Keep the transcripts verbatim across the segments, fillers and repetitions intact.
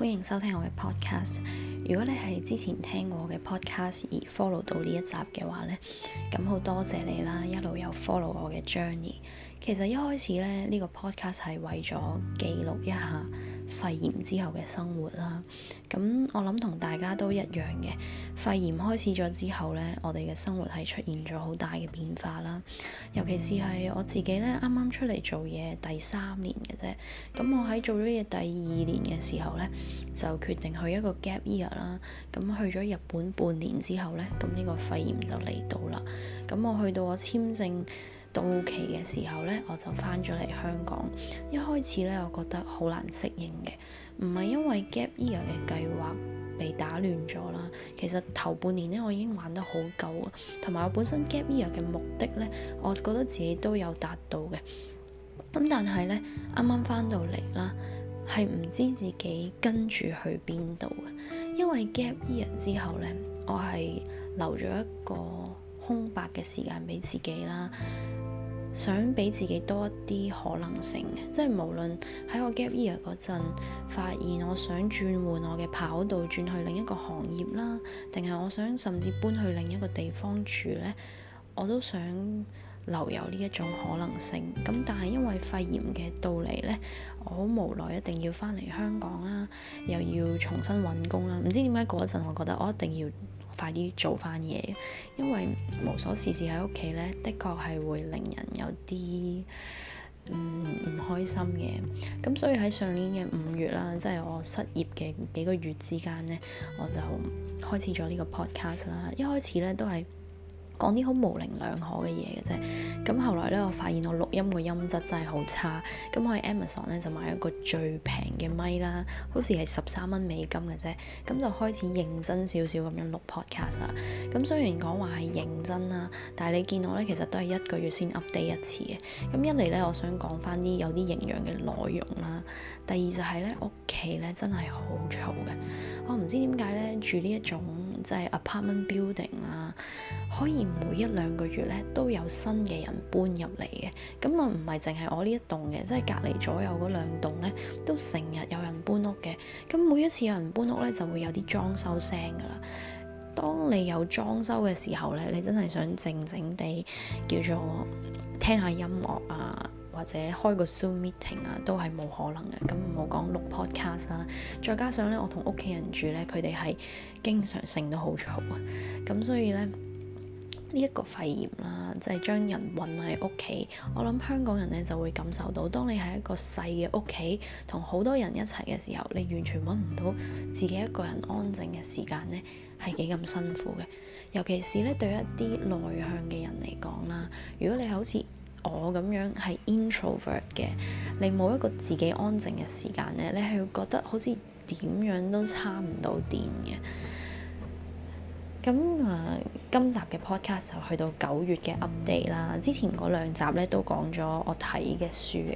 歡迎收聽我嘅 podcast。如果你係之前聽過我嘅 podcast 而 follow 到呢一集嘅話呢，咁好多謝你啦，一路有 follow 我嘅 journey。其實一開始咧，呢個 podcast 係為咗記錄一下肺炎之後嘅生活啦。咁我諗同大家都一樣嘅，肺炎開始咗之後呢，我哋嘅生活係出現咗好大嘅變化啦。尤其是係我自己呢，啱啱出嚟做嘢第三年嘅啫。咁我喺做咗嘢第二年嘅時候呢，就決定去一個 gap year 啦。咁去咗日本半年之後呢，咁呢個肺炎就嚟到啦。咁我去到我簽證到期嘅時候呢，我就翻咗嚟香港。一開始呢，我覺得好難適應嘅，唔係因為 gap year 嘅計劃被打亂咗啦。其實頭半年呢，我已經玩得好夠啊，同埋我本身 gap year 嘅目的呢，我覺得自己都有達到嘅。咁但係呢，啱啱翻到嚟啦，係唔知自己跟住去邊度嘅，因為 gap year 之後呢，我係留咗一個空白嘅時間俾自己啦。想俾自己多一啲可能性嘅，即係無論喺我 gap year 嗰陣發現我想轉換我嘅跑道，轉去另一個行業啦，定係我想甚至搬去另一個地方住呢，我都想留有呢一種可能性。咁但係因為肺炎嘅到嚟呢，我好無奈一定要翻嚟香港啦，又要重新揾工啦。唔知點解嗰陣我覺得我一定要快啲做翻嘢，因為無所事事喺屋企呢，的確係會令人有啲唔唔開心嘅。咁所以喺上年嘅五月啦，即係我失業嘅幾個月之間呢，我就開始咗呢個 podcast 啦。一開始呢都係講啲好模棱兩可嘅嘢嘅啫，咁後來咧，我發現我錄音個音質真係好差，咁我喺 Amazon 咧就買一個最平嘅咪啦，好似係十三蚊美金嘅啫，咁就開始認真少少咁樣錄 podcast 啦。咁雖然講話係認真啦，但係你見我咧其實都係一個月先 update 一次嘅。咁一嚟咧，我想講翻啲有啲營養嘅內容啦。第二就係咧，屋企咧真係好嘈嘅，我唔知點解咧住呢一種即係 apartment building 啦，可以每一兩個月咧都有新嘅人搬入嚟嘅。咁啊唔係淨係我呢一棟嘅，即係隔離左右嗰兩棟咧都成日有人搬屋嘅。咁每一次有人搬屋咧就會有啲裝修聲噶啦。當你有裝修嘅時候咧，你真係想靜靜地叫做聽下音樂啊，或者開個 Zoom meeting 啊，都係冇可能嘅。咁唔好講錄 podcast 啦，再加上咧我同屋企人住咧，佢哋係經常性都好嘈啊。咁所以咧呢一個肺炎啦，即係將人困喺屋企。我諗香港人咧就會感受到，當你喺一個細嘅屋企，同好多人一齊嘅時候，你完全揾唔到自己一個人安靜嘅時間咧，係幾咁辛苦嘅。尤其是咧對一啲內向嘅人嚟講啦，如果你係好似我咁樣係 introvert 嘅，你冇一個自己安靜嘅時間咧，你係會覺得好似點樣都叉唔到電嘅。咁啊，今集嘅 podcast 就去到九月嘅 update 啦。之前嗰兩集咧都講咗我睇嘅書嘅。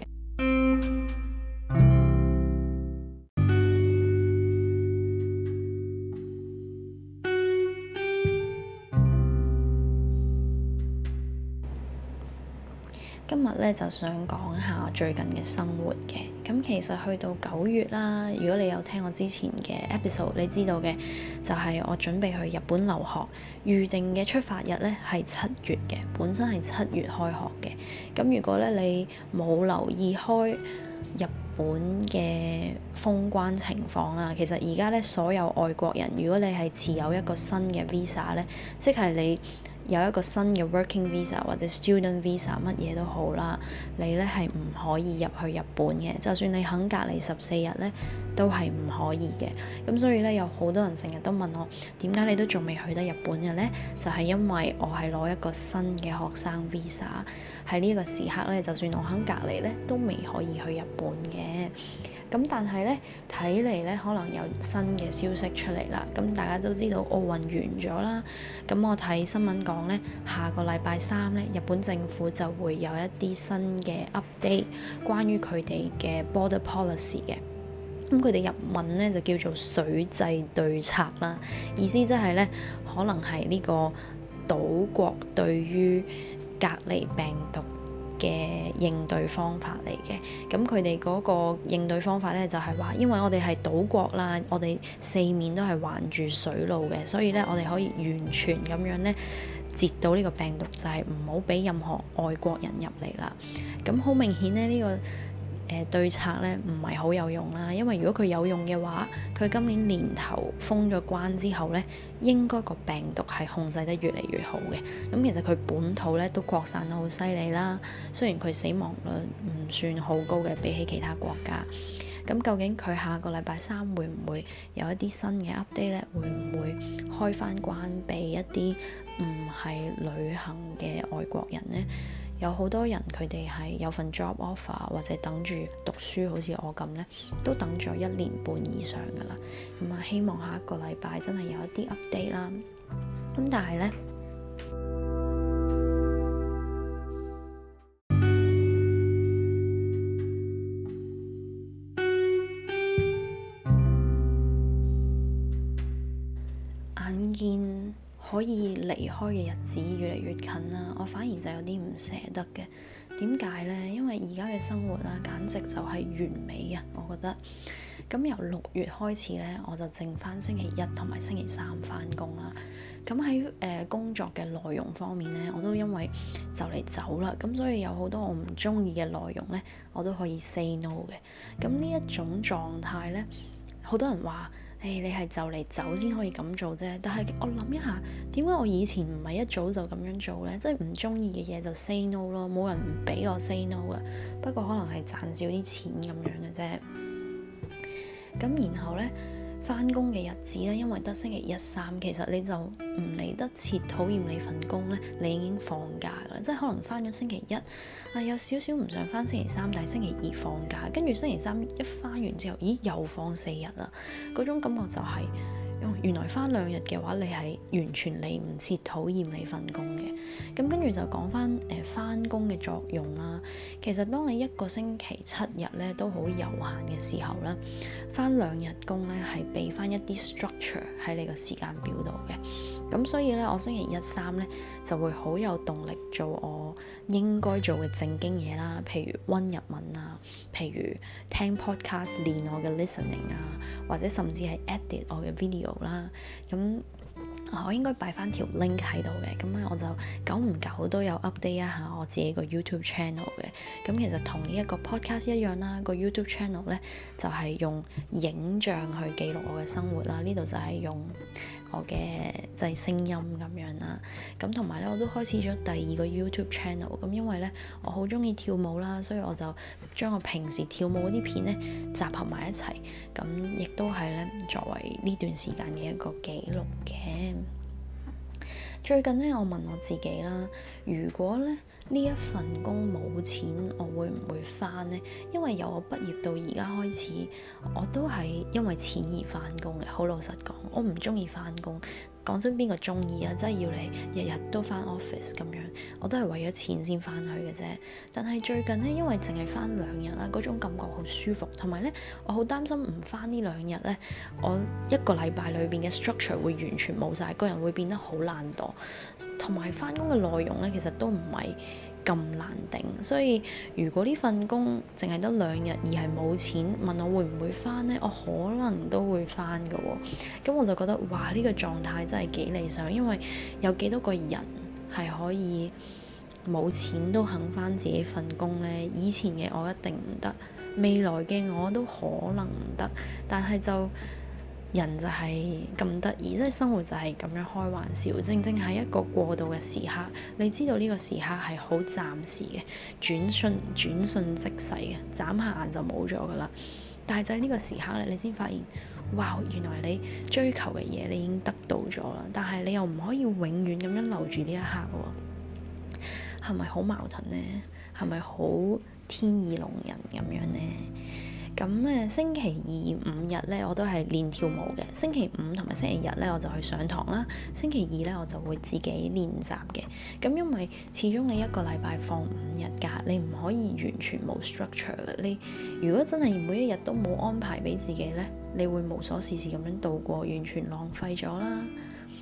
今日咧就想講下最近嘅生活嘅。咁其實去到九月啦，如果你有聽我之前嘅 episode，你知道嘅就係我準備去日本留學，預定嘅出發日咧係七月嘅，本身係七月開學嘅。咁如果咧你冇留意開日本嘅封關情況啦，其實而家咧所有外國人，如果你係持有一個新嘅 visa 咧，即係你有一個新嘅 working visa 或者 student visa 乜嘢都好啦，你咧係唔可以入去日本嘅。就算你肯隔離十四日咧，都係唔可以嘅。咁所以咧有好多人成日都問我，點解你都仲未去得日本嘅咧？就係因為我係攞一個新嘅學生 visa，喺呢個時刻咧，就算我肯隔離咧，都未可以去日本嘅。咁但係咧睇嚟咧，可能有新嘅消息出嚟啦。咁大家都知道奧運完咗啦。咁我睇新聞講咧，下個禮拜三咧，日本政府就會有一啲新嘅 update，關於佢哋嘅 border policy 嘅。咁佢哋日文咧就叫做水際對策啦，意思即係咧，可能係呢個島國對於隔離病毒嘅應對方法嚟嘅。咁佢哋嗰個應對方法咧就係話，因為我哋係島國啦，我哋四面都係環住水路嘅，所以咧我哋可以完全咁樣咧截到呢個病毒，就係唔好俾任何外國人入嚟啦。咁好明顯咧呢、呢個誒、呃、對策咧唔係好有用啦，因為如果佢有用嘅話，佢今年年頭封咗關之後咧，應該個病毒係控制得越嚟越好嘅。咁其實佢本土咧都擴散得好犀利啦，雖然佢死亡率唔算好高嘅，比起其他國家。咁究竟佢下個禮拜三會唔會有一啲新嘅 update 咧？會唔會開返關俾一啲唔係旅行嘅外國人呢？有好多人佢哋係有份 job offer 或者等住讀書，好似我咁呢，都等咗一年半以上噶啦。咁啊，希望下一個禮拜真係有一啲 update 啦。咁但係呢，眼見可以離開嘅日子越嚟越近啦，我反而就有啲唔捨得嘅。點解呢？因為而家嘅生活啦，簡直就係完美啊！我覺得。咁由六月開始咧，我就剩翻星期一同埋星期三翻工啦。咁喺誒工作嘅內容方面咧，我都因為就嚟走啦，咁所以有好多我唔中意嘅內容咧，我都可以 say no 嘅。咁呢一種狀態咧，好多人話，誒、hey, 你係就嚟走先可以咁做啫，但係我諗一下，點解我以前唔係一早就咁樣做呢？即係唔中意嘅嘢就 say no 咯，冇人唔俾我 say no 噶。不過可能係賺少啲錢咁樣嘅啫。咁然後呢，翻工嘅日子呢，因為得星期一三，其實你就唔嚟得切討厭你份工呢，你已經放假噶啦。即係可能翻咗星期一啊，有少少唔想翻星期三，但係星期二放假，跟住星期三一翻完之後，咦又放四日啦，嗰種感覺就係、是。原來翻兩日嘅話，你係完全嚟唔切討厭你份工嘅。咁跟住就講翻誒翻工嘅作用啦。其實當你一個星期七日咧都好悠閒嘅時候咧，翻兩日工咧係俾翻一啲 structure 喺你個時間表度嘅。咁所以咧，我星期一三咧就會好有動力做我應該做嘅正經嘢啦，譬如溫日文啊，譬如聽 podcast 練我嘅 listening 啊，或者甚至係 edit 我嘅 video 啦。咁我應該擺翻條 link 喺度嘅，咁咧我就久唔久都有 update 一下我自己個 YouTube channel 嘅。咁其實同呢一個 podcast 一樣啦，個 YouTube channel 咧就係、是、用影像去記錄我嘅生活啦。呢度就係用我嘅就係聲音咁樣啦。咁同埋咧，我都開始咗第二個 YouTube channel。咁因為咧我好中意跳舞啦，所以我就將我平時跳舞嗰啲片咧集合埋一齊。咁亦都係咧作為呢段時間嘅一個記錄嘅。最近咧，我問我自己啦，如果咧呢一份工冇錢，我會唔會返呢？因為由我畢業到而家開始，我都係因為錢而返工嘅。好老實講，我唔中意返工。講真，邊個中意啊？真係要你日日都返 office 咁樣，我都係為咗錢先返去嘅啫。但係最近咧，因為淨係返兩日啦，嗰種感覺好舒服，同埋咧，我好擔心唔返呢兩日咧，我一個禮拜裏邊嘅 structure 會完全冇晒，個人會變得好懶惰，同埋返工嘅內容咧，其實都唔係咁難定。所以如果呢份工淨係得兩日而係冇錢，問我會唔會返呢？我可能都會返㗎喎。咁我就覺得哇，呢個狀態真係幾理想，因為有幾多個人係可以冇錢都肯返自己份工呢？以前嘅我一定唔得，未來嘅我都可能唔得，但係就人就係咁得意，即係生活就係咁樣開玩笑，正正係一個過渡嘅時刻。你知道呢個時刻係好暫時嘅，轉瞬轉瞬即逝嘅，眨下眼就冇咗噶啦。但係就係呢個時刻咧，你先發現，哇！原來你追求嘅嘢你已經得到咗啦，但係你又唔可以永遠咁樣留住呢一刻喎，係咪好矛盾呢？係咪好天意弄人咁樣呢？咁誒星期二五日咧，我都係練跳舞嘅。星期五同埋星期日咧，我就去上堂啦。星期二咧，我就會自己練習嘅。咁因為始終你一個禮拜放五日假，你唔可以完全冇 structure 嘅。你如果真係每一日都冇安排俾自己咧，你會無所事事咁樣度過，完全浪費咗啦。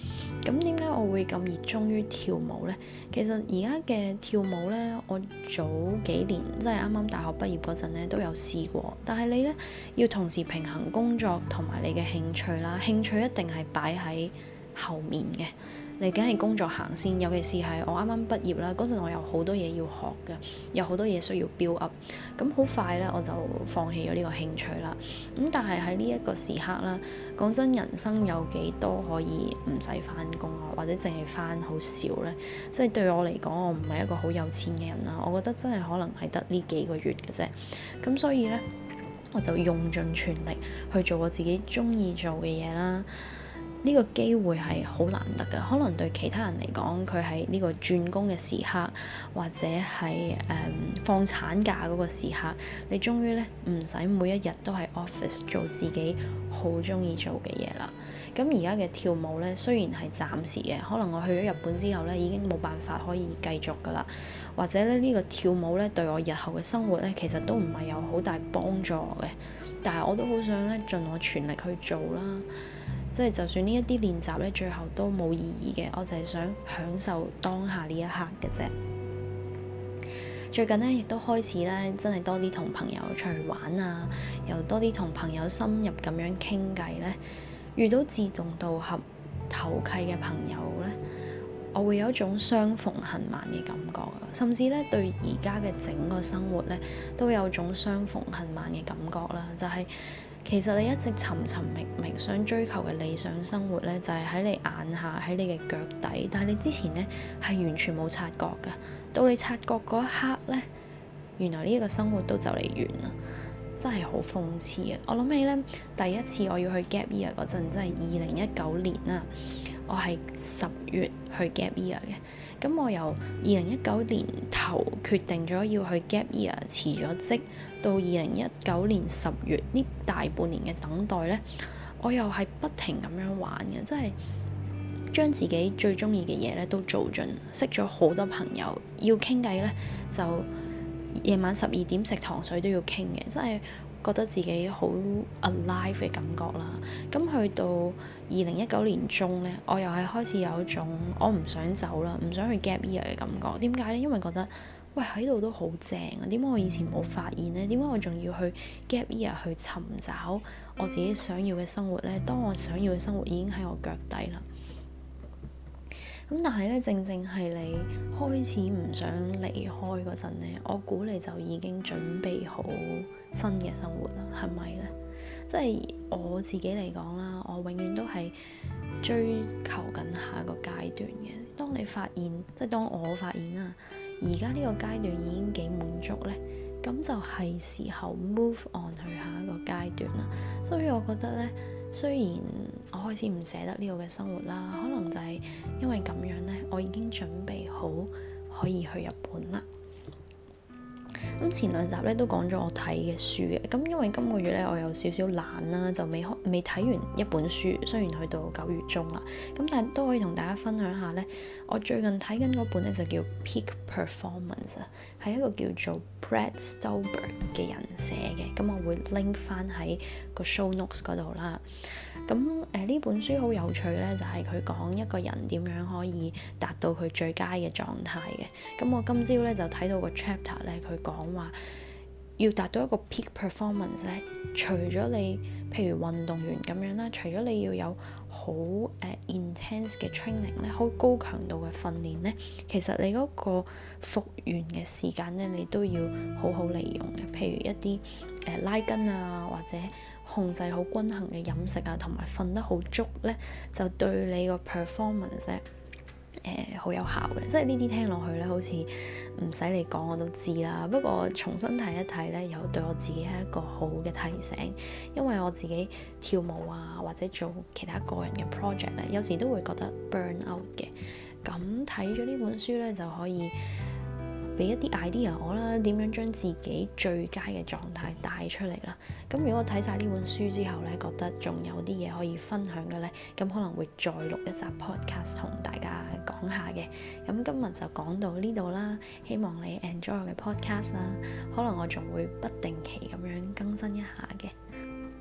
咁點解我會咁熱衷於跳舞呢？其實而家嘅跳舞呢，我早幾年即係啱啱大學畢業嗰陣呢都有試過，但係你呢，要同時平衡工作同埋你嘅興趣啦，興趣一定係擺喺後面嘅。你梗係工作行先，尤其是係我啱啱畢業啦，嗰陣我有好多嘢要學嘅，有好多嘢需要 build up，咁好快咧我就放棄咗呢個興趣啦。咁但係喺呢一個時刻啦，講真，人生有幾多可以唔使返工啊，或者淨係返好少咧？即係對我嚟講，我唔係一個好有錢嘅人啦，我覺得真係可能係得呢幾個月嘅啫。咁所以咧，我就用盡全力去做我自己鍾意做嘅嘢啦。呢個機會係好難得㗎，可能對其他人嚟講，佢係呢個轉工嘅時刻，或者係誒、嗯、放產假嗰個時刻，你終於咧唔使每一日都喺 office 做自己好鍾意做嘅嘢啦。咁而家嘅跳舞咧，雖然係暫時嘅，可能我去咗日本之後咧，已經冇辦法可以繼續㗎啦，或者咧呢、呢個跳舞咧對我日後嘅生活咧，其實都唔係有好大幫助嘅，但係我都好想咧盡我全力去做啦。即係就算呢一啲練習咧，最後都冇意義嘅，我就係想享受當下呢一刻嘅啫。最近咧，亦都開始咧，真係多啲同朋友出去玩啊，又多啲同朋友深入咁樣傾偈咧。遇到志同道合、投契嘅朋友咧，我會有一種相逢恨晚嘅感覺啊，甚至咧對而家嘅整個生活咧，都有種相逢恨晚嘅感覺啦，就係、是。其實你一直尋尋覓覓想追求嘅理想生活咧，就係喺你眼下，喺你嘅腳底，但係你之前咧係完全冇察覺㗎。到你察覺嗰一刻咧，原來呢一個生活都就嚟完啦，真係好諷刺啊！我諗起咧，第一次我要去 gap year 嗰陣，真係二零一九年啦。我係十月去 gap year 嘅，咁我由二零一九年頭決定咗要去 gap year，辭咗職，到二零一九年十月呢大半年嘅等待呢，我又係不停咁樣玩嘅，即係將自己最中意嘅嘢咧都做盡，識咗好多朋友，要傾偈呢，就夜晚十二點食糖水都要傾嘅，真係覺得自己好 alive 嘅感覺啦。咁去到二零一九年中呢，我又係開始有一種我唔想走啦，唔想去 gap year 嘅感覺。點解呢？因為覺得喂喺度都好正啊，點解我以前冇發現呢？點解我仲要去 gap year 去尋找我自己想要嘅生活呢？當我想要嘅生活已經喺我腳底啦。咁但係咧，正正係你開始唔想離開嗰陣咧，我估你就已經準備好新嘅生活啦，係咪咧？即係我自己嚟講啦，我永遠都係追求緊下一個階段嘅。當你發現，即係當我發現啦，而家呢個階段已經幾滿足咧，咁就係時候 move on 去下一個階段啦。所以我覺得咧，雖然我開始唔捨得呢個嘅生活啦，可能就係因為咁樣咧，我已經準備好可以去日本啦。咁前兩集咧都講咗我睇嘅書嘅，咁因為今個月咧我有少少懶啦，就未開未睇完一本書，雖然去到九月中啦，咁但係都可以同大家分享下咧，我最近睇緊嗰本咧就叫 Peak Performance 啊，係一個叫做 Brad Stulberg 嘅人寫嘅，咁我會 link 翻喺個 show notes 嗰度啦。咁誒呢本書好有趣咧，就係佢講一個人點樣可以達到佢最佳嘅狀態嘅。咁我今朝咧就睇到個 chapter 咧，佢講話要達到一個 peak performance 咧，除咗你譬如運動員咁樣啦，除咗你要有好誒、uh, intense 嘅 training 咧，好高強度嘅訓練咧，其實你嗰個復原嘅時間咧，你都要好好利用嘅。譬如一啲誒、uh, 拉筋啊，或者控制好均衡嘅飲食啊，同埋瞓得好足咧，就對你個 performance 咧誒好有效嘅。即係呢啲聽落去咧，好似唔使你講我都知啦。不過重新睇一睇咧，又對我自己係一個好嘅提醒。因為我自己跳舞啊，或者做其他個人嘅 project 咧，有時都會覺得 burn out 嘅。咁睇咗呢本書咧，就可以俾一啲 idea 我啦，點樣將自己最佳嘅狀態帶出嚟啦。咁如果我睇晒呢本書之後咧，覺得仲有啲嘢可以分享嘅咧，咁可能會再錄一集 podcast 同大家講下嘅。咁今日就講到呢度啦，希望你 enjoy 我嘅 podcast 啦。可能我仲會不定期咁樣更新一下嘅。啊，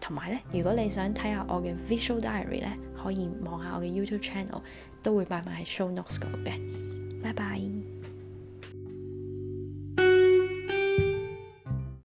同埋咧，如果你想睇下我嘅 visual diary 咧，可以望下我嘅 YouTube channel，都會擺埋喺 show notes 嗰度嘅。拜拜。